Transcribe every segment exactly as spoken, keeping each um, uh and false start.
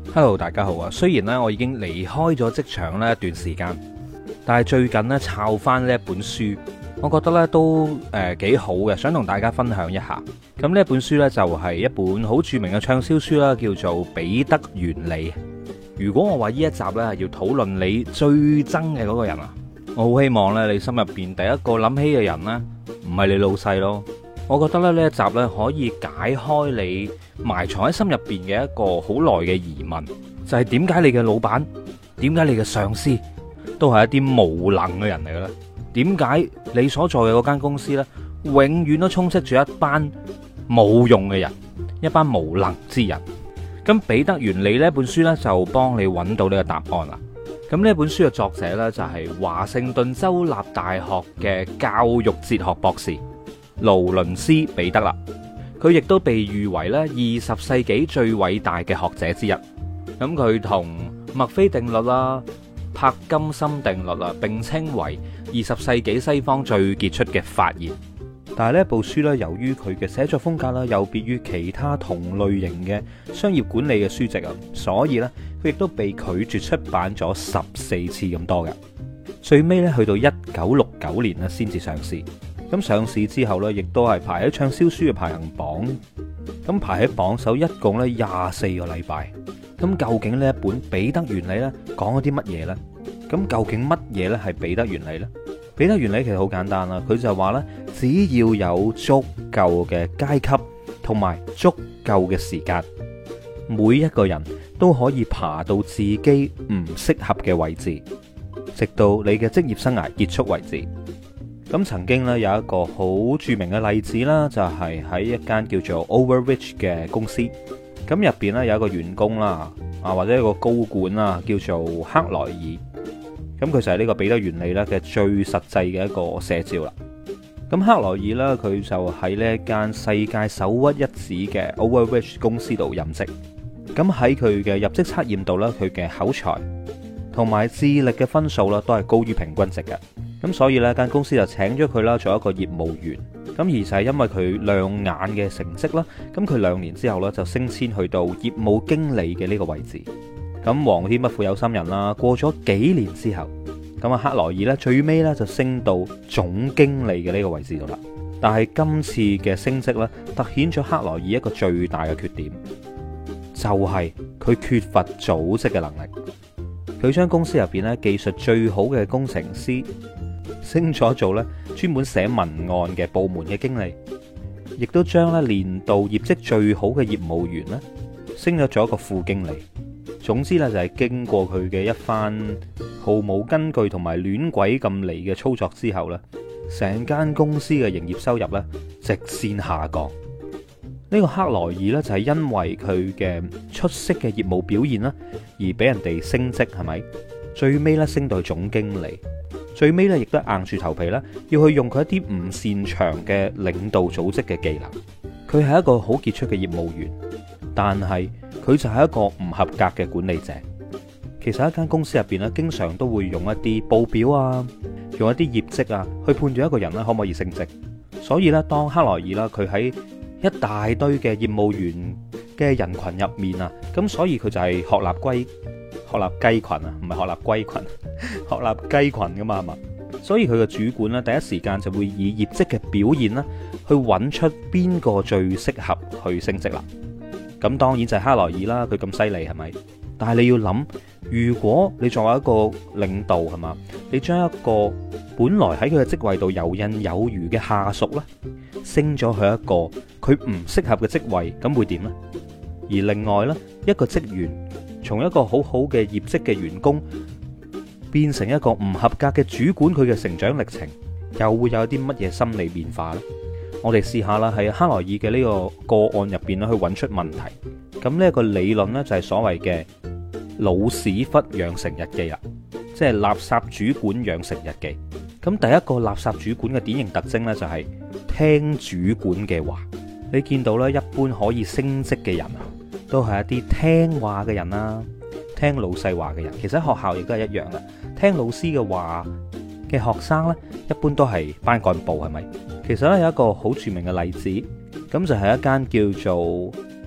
Hello，大家好啊！雖然咧我已經離開咗職場咧一段時間，但係最近咧抄翻呢一本書，我覺得咧都誒幾好嘅，想同大家分享一下。咁呢一本書咧就係一本好著名嘅暢銷書啦，叫做《彼得原理》。如果我話呢一集咧係要討論你最憎嘅嗰個人啊，我好希望咧你心入邊第一個諗起嘅人咧唔係你老細咯。我覺得咧呢一集咧可以解開你埋藏喺心入邊嘅一個好耐嘅疑問，就係點解你嘅老闆，點解你嘅上司都係一啲無能嘅人嚟嘅咧？點解你所在嘅嗰間公司呢，永遠都充斥住一班冇用嘅人，一班無能之人？咁彼得原理呢本書呢，就幫你揾到呢個答案啦。咁呢本書嘅作者呢，就係華盛頓州立大學嘅教育哲學博士勞倫斯彼得啦。佢亦都被譽為咧二十世紀最偉大嘅學者之一。咁佢同墨菲定律啦、柏金森定律啦，並稱為二十世紀西方最傑出嘅發現。但係呢部書咧，由於佢嘅寫作風格啦，有別於其他同類型嘅商業管理嘅書籍啊，所以咧佢亦都被拒絕出版咗十四次咁多嘅。最尾咧去到一九六九年咧先至上市。咁上市之後咧，亦都係排喺暢銷書嘅排行榜。咁排喺榜首一共咧廿四個禮拜。咁究竟呢一本彼得原理咧講咗啲乜嘢呢？咁究竟乜嘢咧係彼得原理呢？彼得原理其實好簡單啦，佢就話咧，只要有足夠嘅階級同埋足夠嘅時間，每一個人都可以爬到自己唔適合嘅位置，直到你嘅職業生涯結束為止。咁曾經咧有一個好著名嘅例子啦，就係喺一間叫做 Overreach 嘅公司。咁入邊咧有一個員工啦，啊或者一個高管啦，叫做克萊爾。咁佢就係呢個彼得原理咧嘅最實際嘅一個寫照啦。咁克萊爾咧佢就喺呢一間世界首屈一指嘅 Overreach 公司度任職。咁喺佢嘅入職測驗度咧，佢嘅口才同埋智力嘅分數啦，都係高於平均值嘅。咁所以呢間公司就請咗佢啦，做一個業務員。咁而就係因為佢亮眼嘅成績啦，咁佢兩年之後呢，就升遷去到業務經理嘅呢個位置。咁皇天不負有心人啦，過咗幾年之後，咁啊克萊爾呢，最尾呢就升到總經理嘅呢個位置度啦。但係今次嘅升職呢，凸顯咗克萊爾一個最大嘅缺點，就係佢缺乏組織嘅能力。佢將公司入邊呢技術最好嘅工程師升咗做咧專門寫文案嘅部門嘅經理，亦都將咧年度業績最好嘅業務員咧升咗做一個副經理。總之咧就係經過佢嘅一番毫無根據同埋亂鬼咁嚟嘅操作之後咧，成間公司嘅營業收入咧直線下降。呢個克萊爾咧就係因為佢嘅出色嘅業務表現啦，而俾人哋升職，係咪？最尾咧升到總經理。最尾咧，亦都硬住頭皮啦，要去用佢一啲唔擅長嘅領導組織嘅技能。佢係一個好傑出嘅業務員，但係佢就係一個唔合格嘅管理者。其實一間公司入邊咧，經常都會用一啲報表啊，用一啲業績啊，去判斷一個人咧可唔可以升職。所以咧，當克萊爾啦，佢喺一大堆嘅業務員嘅人群入面啊，咁所以佢就係鶴立龜。鶴立雞群啊，唔係鶴立龜群，鶴立雞群噶嘛，係嘛？所以佢嘅主管咧，第一時間就會以業績嘅表現啦，去揾出邊個最適合去升職啦。咁當然就係克萊爾啦，佢咁犀利係咪？但係你要諗，如果你作為一個領導係嘛，你將一個本來喺佢嘅職位度游刃有餘嘅下屬咧，升咗去一個佢唔適合嘅職位，咁會點呢？而另外咧，一個職員從一個好好嘅業績嘅員工變成一個唔合格嘅主管，佢嘅成長歷程又會有啲乜嘢心理變化呢？我哋試下啦，喺克萊爾嘅呢個個案入邊咧，去揾出問題。咁呢一個理論呢，就係所謂嘅老屎忽養成日記啦，即係垃圾主管養成日記。咁第一個垃圾主管嘅典型特徵呢，就係聽主管嘅話。你見到呢，一般可以升職嘅人啊，都係一啲聽話嘅人啦，聽老細話嘅人。其實喺學校亦都係一樣嘅，聽老師嘅話嘅學生呢，一般都係班幹部，係咪？其實咧有一個好著名嘅例子，咁就係一間叫做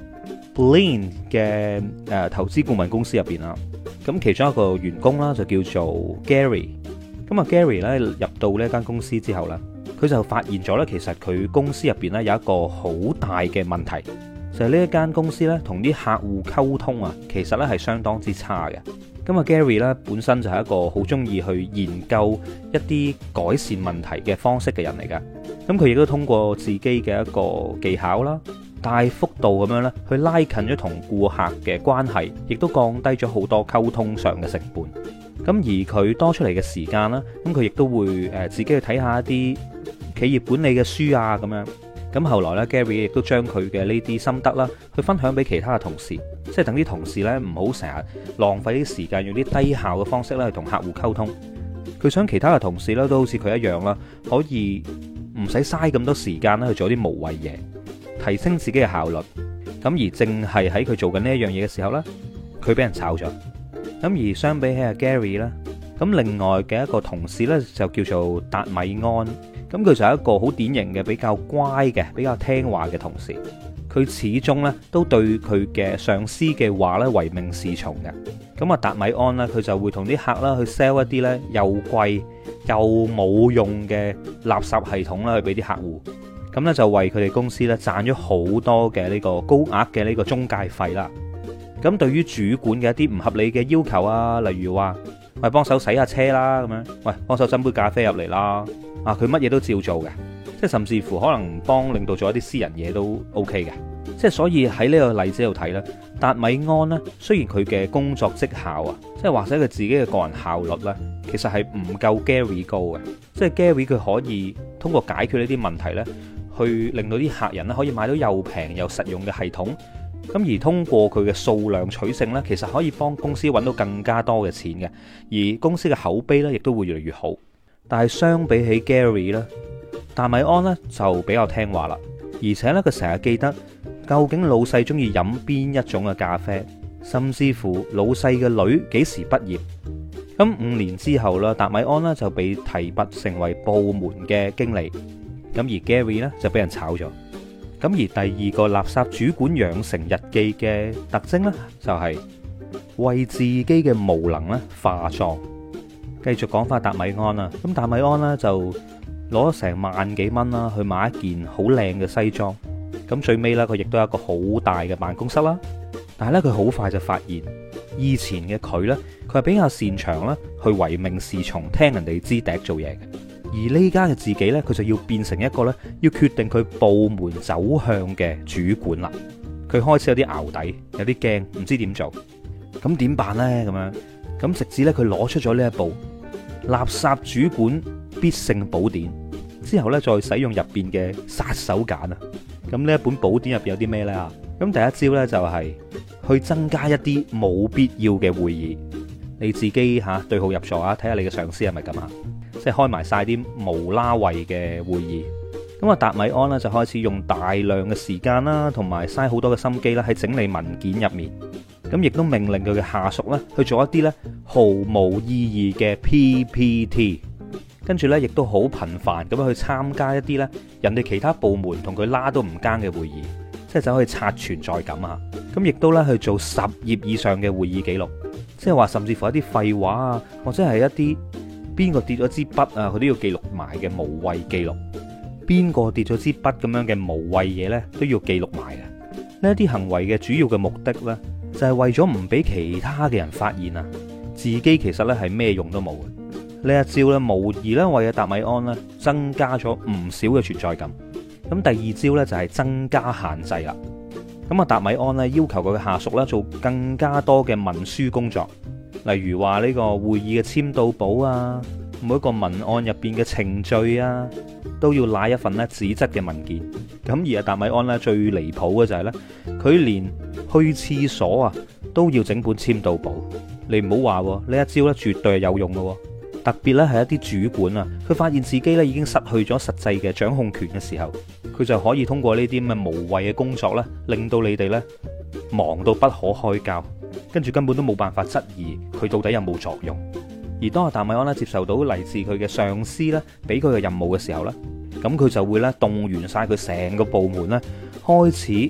Bain 嘅誒投資顧問公司入邊啦。咁其中一個員工啦就叫做 Gary。咁啊 Gary 咧入到呢間公司之後咧，佢就發現咗咧，其實佢公司入邊咧有一個好大嘅問題，就係呢一間公司咧同啲客戶溝通啊，其實咧係相當之差嘅。咁啊 Gary 咧本身就係一個好中意去研究一啲改善問題嘅方式嘅人嚟嘅。咁佢亦都通過自己嘅一個技巧啦，大幅度咁樣咧去拉近咗同顧客嘅關係，亦都降低咗好多溝通上嘅成本。咁而佢多出嚟嘅時間啦，咁佢亦都會誒自己去睇下一啲企業管理嘅書啊咁樣。咁後來咧 Gary 亦都將佢嘅呢啲心得啦，去分享俾其他嘅同事，即係等啲同事咧唔好成日浪費啲時間用啲低效嘅方式咧去同客戶溝通。佢想其他嘅同事咧都好似佢一樣啦，可以唔使嘥咁多時間咧去做啲無謂嘢，提升自己嘅效率。咁而正係喺佢做緊呢一樣嘢嘅時候呢，佢俾人炒咗。咁而相比起阿 Gary 咧，咁另外嘅一個同事呢，就叫做達米安。咁佢就係一個好典型嘅比較乖嘅、比較聽話嘅同事。佢始終呢都對佢嘅上司嘅話呢唯命是從嘅。咁啊達米安呢，佢就會同啲客啦去 sell 一啲呢又貴又冇用嘅垃圾系統啦去俾啲客戶。咁呢，就為佢哋公司呢賺咗好多嘅呢個高額嘅呢個中介費啦。咁對於主管嘅一啲唔合理嘅要求啊，例如話喂幫手洗下車啦咁樣，喂幫手斟杯咖啡入嚟啦。啊！佢乜嘢都照做嘅，即係甚至乎可能幫領導做一啲私人嘢都 OK 嘅，即係所以喺呢個例子度睇呢，達米安呢，雖然佢嘅工作績效啊，即係或者佢自己嘅個人效率呢，其實係唔夠 Gary 高嘅，即係 Gary 佢可以通過解決呢啲問題呢，去令到啲客人呢可以買到又平又實用嘅系統，咁而通過佢嘅數量取勝呢，其實可以幫公司揾到更加多嘅錢嘅，而公司嘅口碑呢亦都會越嚟越好。但係相比起 Gary 咧，達米安咧就比較聽話啦，而且咧佢成日記得究竟老細中意飲邊一種嘅咖啡，甚至乎老細嘅女幾時畢業。咁五年之後啦，達米安咧就被提拔成為部門嘅經理，咁而 Gary 咧就俾人炒咗。咁而第二個垃圾主管養成日記嘅特徵咧，就係為自己嘅無能咧化妝。繼續講翻達米安啦，咁達米安呢，就攞咗成萬幾蚊啦，去買一件好靚嘅西裝。咁最尾呢，佢亦都有一個好大嘅辦公室啦。但係呢，佢好快就發現，以前嘅佢呢，佢係比較擅長啦，去唯命是從，聽人哋支笛做嘢嘅。而呢家嘅自己呢，佢就要變成一個呢，要決定佢部門走向嘅主管啦。佢開始有啲淆底，有啲驚，唔知點做。咁點辦呢？咁樣咁直至呢，佢攞出咗呢一部垃圾主管必勝寶典之後呢，再使用入邊嘅殺手鐧啊！咁呢一本寶典入邊有啲咩呢？咁第一招呢，就係去增加一啲冇必要嘅會議，你自己吓對號入座啊，睇下你嘅上司係咪咁啊？即係開埋晒啲無啦謂嘅會議。咁啊，達米安呢，就開始用大量嘅時間啦，同埋嘥好多嘅心機啦，喺整理文件入面。咁亦都命令佢嘅下屬咧去做一啲咧毫無意義嘅 P P T， 跟住咧亦都好頻繁咁樣去參加一啲咧人哋其他部門同佢拉都唔奸嘅會議，即係走去刷存在感啊！咁亦都咧去做十頁以上嘅會議記錄，即係話甚至乎一啲廢話啊，或者係一啲邊個跌咗支筆啊，佢都要記錄埋嘅無謂記錄，邊個跌咗支筆咁樣嘅無謂嘢咧都要記錄埋嘅。呢一啲行為嘅主要嘅目的咧，就係為咗唔俾其他嘅人發現啊，自己其實咧係咩用都冇嘅。呢一招咧，無疑咧為阿達米安咧增加咗唔少嘅存在感。咁第二招咧就係增加限制啦。咁啊，達米安咧要求佢嘅下屬咧做更加多嘅文書工作，例如話呢個會議嘅簽到簿啊，每一個文案入邊嘅程序啊，都要拉一份咧紙質嘅文件。咁而阿達米安咧最離譜嘅就係咧，佢連去廁所啊都要整本簽到簿。你唔好話呢一招咧絕對係有用嘅，特別咧係一啲主管啊，佢發現自己咧已經失去咗實際嘅掌控權嘅時候，佢就可以通過呢啲咁嘅無謂嘅工作咧，令到你哋咧忙到不可開交，跟住根本都冇辦法質疑佢到底有冇作用。而當阿達米安咧接受到嚟自佢嘅上司咧俾佢嘅任務嘅時候咧，咁佢就會咧動員晒佢成個部門咧，開始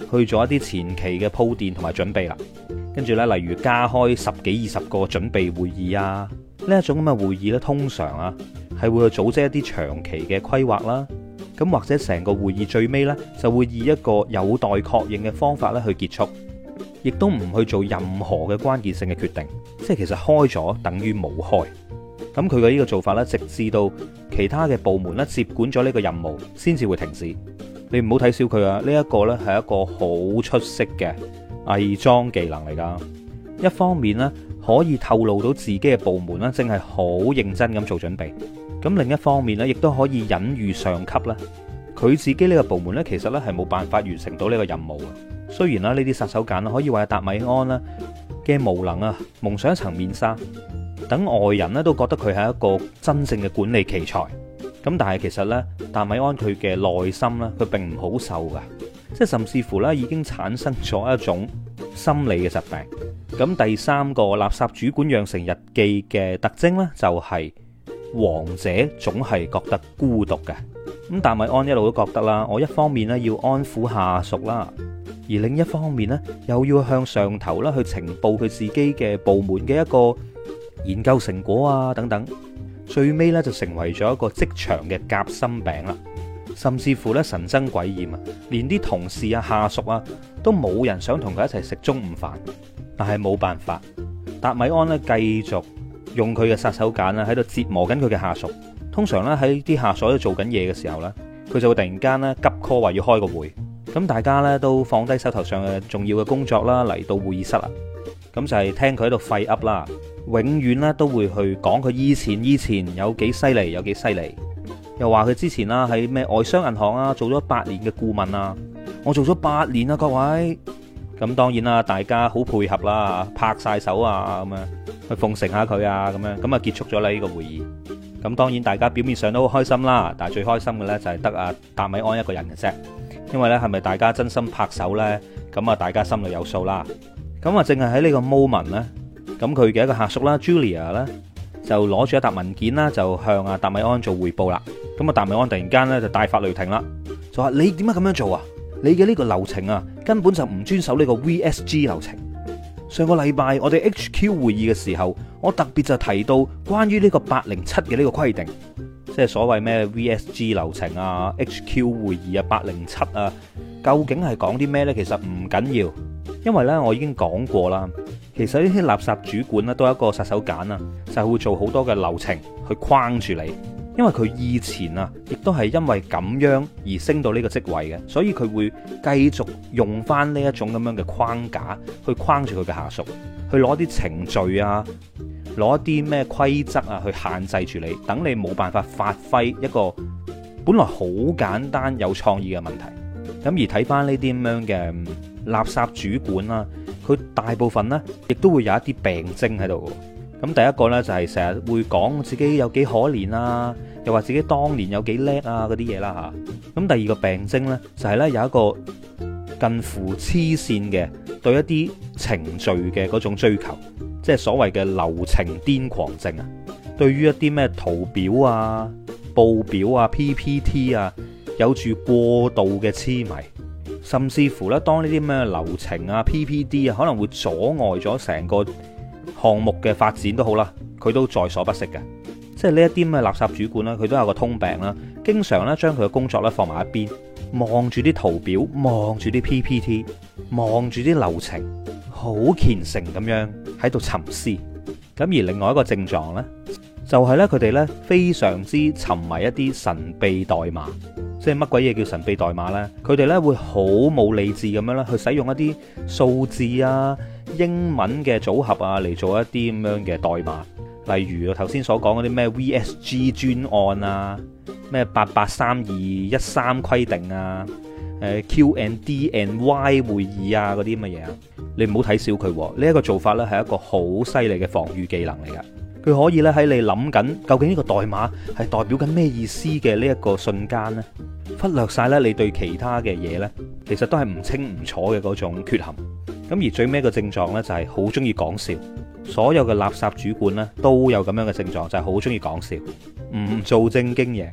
去做一啲前期嘅鋪墊同埋準備啦。跟住呢，例如加開十幾二十個準備會議啊，呢一種咁嘅會議呢，通常啊係會去組織一啲長期嘅規劃啦。咁或者成個會議最尾呢，就會以一個有待確認嘅方法咧去結束，亦都唔去做任何嘅關鍵性嘅決定，即係其實開咗等於冇開。咁佢嘅呢個做法呢，直至到其他嘅部門咧接管咗呢個任務，先至會停止。你唔好睇小佢啊！呢一個呢，係一個好出色嘅偽裝技能嚟噶。一方面呢，可以透露到自己嘅部門呢，正係好認真咁做準備。咁另一方面呢，亦都可以隱喻上級啦，佢自己呢個部門呢，其實呢係冇辦法完成到呢個任務嘅。雖然啦，呢啲殺手鐧可以為達米安啦嘅無能啊蒙上一層面紗，等外人呢都覺得佢係一個真正嘅管理奇才。咁但係其實呢，達米安佢嘅內心呢，佢並唔好受噶，即係甚至乎呢已經產生咗一種心理嘅疾病。咁第三個垃圾主管養成日記嘅特徵呢，就係王者總係覺得孤獨嘅。咁達米安一路都覺得啦，我一方面呢要安撫下屬啦，而另一方面呢又要向上頭啦去呈報佢自己嘅部門嘅一個研究成果啊等等。最尾咧就成為咗一個職場嘅夾心餅啦，甚至乎咧神憎鬼厭啊，連啲同事啊下屬啊都冇人想同佢一齊食中午飯。但係冇辦法，達米安咧繼續用佢嘅殺手鐧啦喺度折磨緊佢嘅下屬。通常咧喺啲下屬喺度做緊嘢嘅時候咧，佢就會突然間咧急 call 話要開個會，咁大家咧都放低手頭上嘅重要嘅工作啦，嚟到會議室啦，咁就係聽佢喺度廢噏啦。永遠咧都會去講佢以前以前有幾犀利，有幾犀利，又話佢之前啦喺咩外商銀行啊做咗八年嘅顧問啊，我做咗八年啊各位。咁當然啦，大家好配合啦，拍晒手啊咁樣去奉承下佢啊咁樣，咁啊結束咗啦呢個會議。咁當然大家表面上都好開心啦，但係最開心嘅呢就係得阿達米安一個人嘅啫，因為呢係咪大家真心拍手呢？咁啊大家心裏有數啦。咁啊淨係喺呢個 moment 呢。咁佢嘅一個下屬啦 Julia 咧就攞住一沓文件啦，就向阿達米安做匯報啦。咁啊達米安突然間咧就大發雷霆啦，就話你點解咁樣做啊？你嘅呢個流程啊根本就唔遵守呢個 V S G 流程。上個禮拜我哋 H Q 會議嘅時候，我特別就提到關於呢個八零七嘅呢個規定，即係所謂咩 V S G 流程啊 H Q 會議啊八零七啊，究竟係講啲咩呢？其實唔緊要，因為呢我已經講過啦。其實呢啲垃圾主管咧都係一個殺手鐧啊，就係會做好多嘅流程去框住你。因為佢以前啊，亦都係因為咁樣而升到呢個職位嘅，所以佢會繼續用翻呢一種咁樣嘅框架去框住佢嘅下屬，去攞啲程序啊，攞一啲咩規則啊去限制住你，等你冇辦法發揮一個本來好簡單有創意嘅問題。咁而睇翻呢啲咁樣嘅垃圾主管啦，佢大部分呢亦都會有一啲病徵喺度。咁第一個呢，就係成日會講自己有幾可憐啊，又話自己當年有幾叻啊嗰啲嘢啦吓。咁第二個病徵呢，就係呢有一個近乎黐線嘅對一啲程序嘅嗰種追求，即係所謂嘅流程癲狂症啊。對於一啲咩圖表啊、報表啊、P P T 啊，有住過度嘅痴迷，甚至乎呢，當呢啲咩流程啊、P P T 啊可能會阻礙咗成個項目嘅發展都好啦，佢都在所不惜嘅。即係呢一啲咩垃圾主管啦，佢都有個通病啦，經常咧將佢嘅工作咧放埋一邊，望住啲圖表，望住啲 P P T， 望住啲流程，好虔誠咁樣喺度沉思。咁而另外一個症狀呢，就係呢，佢哋呢非常之沉迷一啲神秘代碼。即係乜鬼嘢叫神秘代碼呢？佢哋呢會好冇理智咁樣咧去使用一啲數字啊、英文嘅組合啊嚟做一啲咁樣嘅代碼。例如頭先所講嗰啲咩 V S G 專案啊，咩八八三二一三規定啊，誒 Q and D and Y 會議啊嗰啲咁嘅嘢啊，你唔好睇小佢呢一個做法呢係一個好犀利嘅防禦技能嚟噶。佢可以咧喺你諗緊究竟呢個代碼係代表緊咩意思嘅呢一個瞬間呢，忽略晒咧你對其他嘅嘢呢，其實都係唔清唔楚嘅嗰種缺陷。咁而最尾個症狀呢，就係好中意講笑。所有嘅垃圾主管呢，都有咁樣嘅症狀，就係好中意講笑，唔做正經嘢。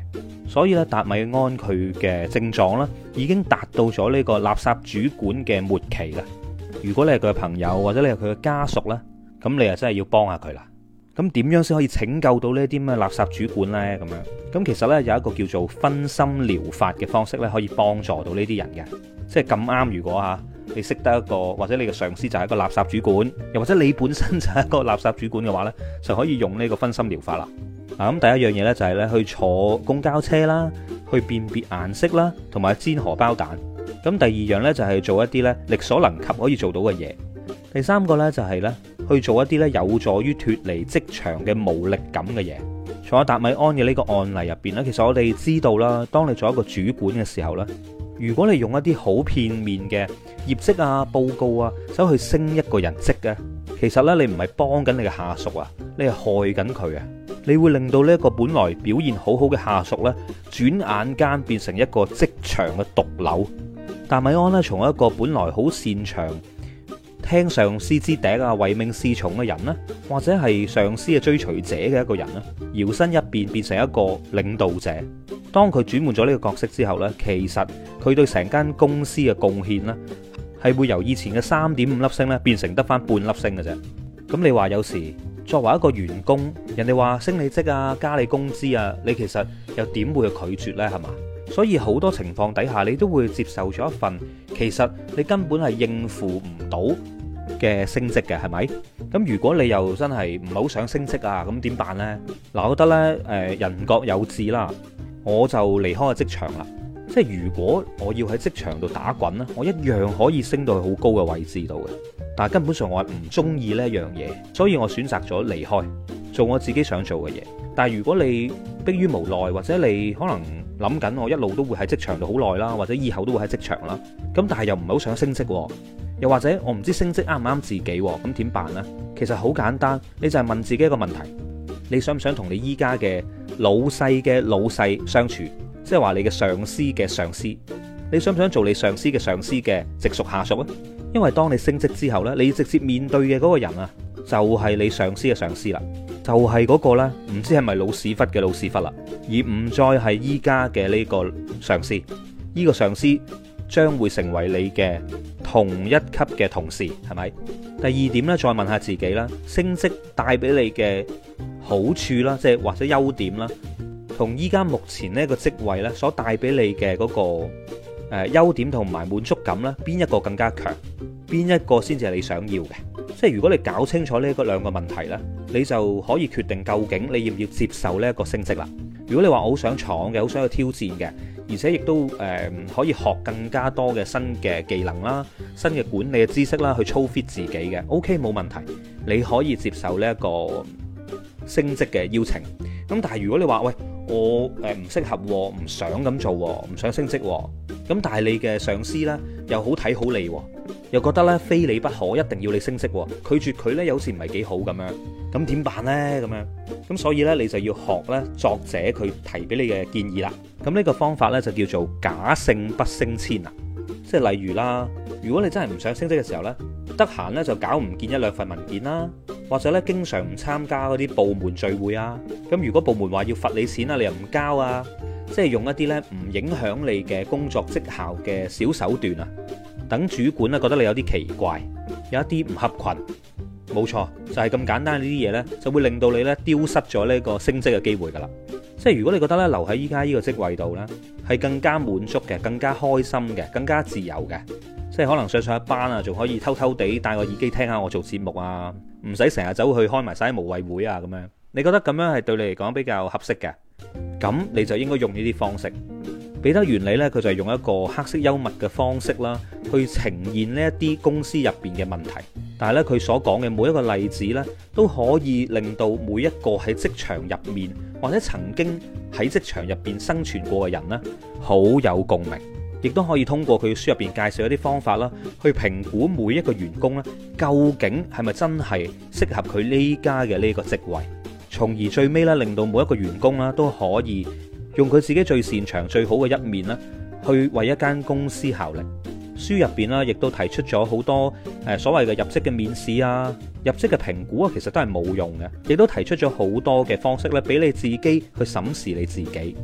所以咧達米安佢嘅症狀咧已經達到咗呢個垃圾主管嘅末期啦。如果你係佢嘅朋友或者你係佢嘅家屬咧，咁你啊真係要幫下佢啦。咁點樣先可以拯救到呢啲咩垃圾主管呢？咁樣咁其實呢，有一個叫做分心療法嘅方式咧，可以幫助到呢啲人嘅。即係咁啱，如果嚇你識得一個或者你嘅上司就係一個垃圾主管，又或者你本身就係一個垃圾主管嘅話呢，就可以用呢個分心療法啦。嗱，咁第一樣嘢呢，就係呢去坐公交車啦，去辨別顏色啦，同埋煎荷包蛋。咁第二樣呢，就係做一啲呢力所能及可以做到嘅嘢。第三個呢，就係呢去做一啲呢有助於脫離職場嘅無力感嘅嘢。從阿達米安嘅呢個案例入邊呢，其實我哋知道啦，當你做一個主管嘅時候呢，如果你用一啲好片面嘅業績啊、報告啊，走去升一個人職嘅，其實呢，你唔係幫緊你嘅下屬啊，你係害緊佢啊！你會令到呢一個本來表現好好嘅下屬呢，轉眼間變成一個職場嘅毒瘤。達米安呢，從一個本來好擅長聽上司之笛啊，唯命是從嘅人呢，或者係上司嘅追隨者嘅一個人呢，搖身一變變成一個領導者。當佢轉換咗呢個角色之後呢，其實佢對成間公司嘅貢獻呢，係會由以前嘅三點五粒星呢，變成得翻半粒星嘅啫。咁你話有時作為一個員工，人哋話升你職啊，加你工資啊，你其實又點會去拒絕呢？係嘛？所以好多情況底下，你都會接受咗一份其實你根本係應付唔到嘅升職嘅，係咪？咁如果你又真係唔係好想升職啊，咁點辦呢？嗱，我覺得呢，誒，人各有志啦，我就離開個職場啦。即係如果我要喺職場度打滾咧，我一樣可以升到去好高嘅位置度嘅。但係根本上我係唔中意呢一樣嘢，所以我選擇咗離開，做我自己想做嘅嘢。但係如果你迫於無奈，或者你可能諗緊我一路都會喺職場度好耐啦，或者以後都會喺職場啦，咁但係又唔係好想升職，又或者我唔知升職啱唔啱自己，咁點辦呢？其實好簡單，你就係問自己一個問題：你想唔想同你依家嘅老細嘅老細相處？即係話你嘅上司嘅上司，你想唔想做你上司嘅上司嘅直屬下屬啊？因為當你升職之後呢，你直接面對嘅嗰個人啊，就係你上司嘅上司啦，就係嗰個呢，唔知係咪老屎忽嘅老屎忽啦，而唔再係依家嘅呢個上司。呢個上司將會成為你嘅同一級嘅同事，係咪？第二點呢，再問下自己啦，升職帶俾你嘅好處啦，即係或者優點啦，同依家目前呢個職位呢所帶俾你嘅嗰個誒優點同埋滿足感呢，邊一個更加強？邊一個先至係你想要嘅？即係如果你搞清楚呢個兩個問題呢，你就可以決定究竟你要唔要接受呢一個升職啦。如果你話我好想闖嘅，好想去挑戰嘅，而且亦都誒、呃、可以學更加多嘅新嘅技能啦、新嘅管理嘅知識啦，去操 fit 自己嘅 ，OK 冇問題，你可以接受呢一個升職嘅邀請。咁但係如果你話喂，我誒唔適合，唔想咁做，唔想升職，咁但係你嘅上司呢又好睇好你，又覺得呢非你不可，一定要你升職，拒絕佢呢有時唔係幾好咁樣，咁點辦呢？咁樣咁所以呢，你就要學呢作者佢提俾你嘅建議啦。咁呢個方法呢，就叫做假勝不升遷啦。即係例如啦，如果你真係唔想升職嘅時候呢，得閒呢就搞唔見一兩份文件啦，或者呢經常唔參加嗰啲部門聚會啊。咁如果部門話要罰你錢啊，你又唔交啊，即係用一啲呢唔影響你嘅工作績效嘅小手段啊，等主管呢覺得你有啲奇怪，有一啲唔合群。冇錯，就係咁簡單呢啲嘢呢，就會令到你呢丟失咗呢個升職嘅機會噶啦。即係如果你覺得呢留喺依家呢個職位度呢，係更加滿足嘅、更加開心嘅、更加自由嘅，即係可能上上一班啊，仲可以偷偷地戴個耳機聽下我做節目啊，唔使成日走去開埋晒無謂會啊咁樣。你覺得咁樣係對你嚟講比較合適嘅，咁你就應該用呢啲方式。彼得原理呢，佢就係用一個黑色幽默嘅方式啦，去呈現呢一啲公司入邊嘅問題。但係咧，佢所講嘅每一個例子呢，都可以令到每一個喺職場入面或者曾經喺職場入邊生存過嘅人呢，好有共鳴。亦都可以通過佢書入邊介紹一啲方法啦，去評估每一個員工呢，究竟係咪真係適合佢呢家嘅呢個職位，從而最尾呢，令到每一個員工啦都可以用佢自己最擅長、最好嘅一面呢，去為一間公司效力。書入邊啦，亦都提出咗好多誒所謂嘅入職嘅面試啊、入職嘅評估啊，其實都係冇用嘅。亦都提出咗好多嘅方式咧，俾你自己去審視你自己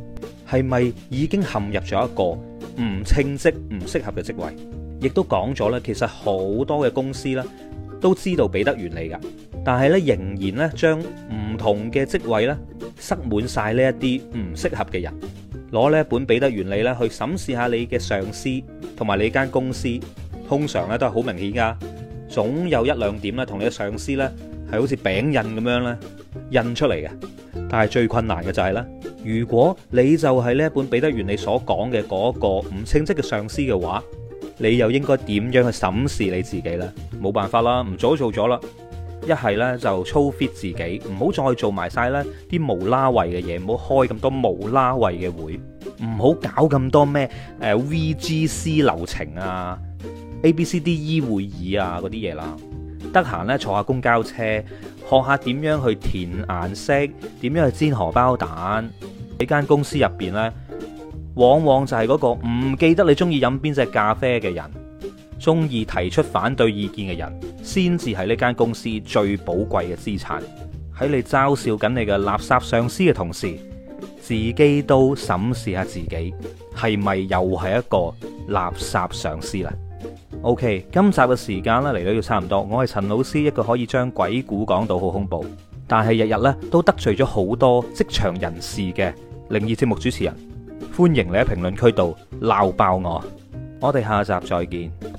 係咪已經陷入咗一個唔稱職、唔適合嘅職位？亦都講咗咧，其實好多嘅公司咧都知道彼得原理噶，但係咧仍然咧將唔同嘅職位咧塞滿晒呢一啲唔適合嘅人。攞呢一本彼得原理咧去審視下你嘅上司同埋你間公司，通常咧都係好明顯噶，總有一兩點咧同你嘅上司咧係好似餅印咁樣咧印出嚟嘅。但係最困難嘅就係咧，如果你就係呢一本彼得原理所講嘅嗰個唔稱職嘅上司嘅話，你又應該點樣去審視你自己呢？冇辦法啦，唔早做咗啦。一係呢就操 fit 自己，唔好再做埋晒呢啲無啦位嘅嘢，唔好開咁多無啦位嘅會，唔好搞咁多咩誒 V G C 流程啊、A B C D E 會議啊嗰啲嘢啦。得閒呢坐下公交車，學下點樣去填顏色，點樣去煎荷包蛋。喺間公司入邊呢，往往就係嗰個唔記得你中意飲邊隻咖啡嘅人，中意提出反對意見嘅人，先至係呢間公司最寶貴嘅資產。喺你嘲笑緊你嘅垃圾上司嘅同時，自己都審視下自己，係咪又係一個垃圾上司啦？OK， 今集嘅時間咧嚟到要差唔多，我係陳老師，一個可以將鬼故講到好恐怖，但係日日咧都得罪咗好多職場人士嘅靈異節目主持人。歡迎你喺評論區度鬧爆我，我哋下集再見。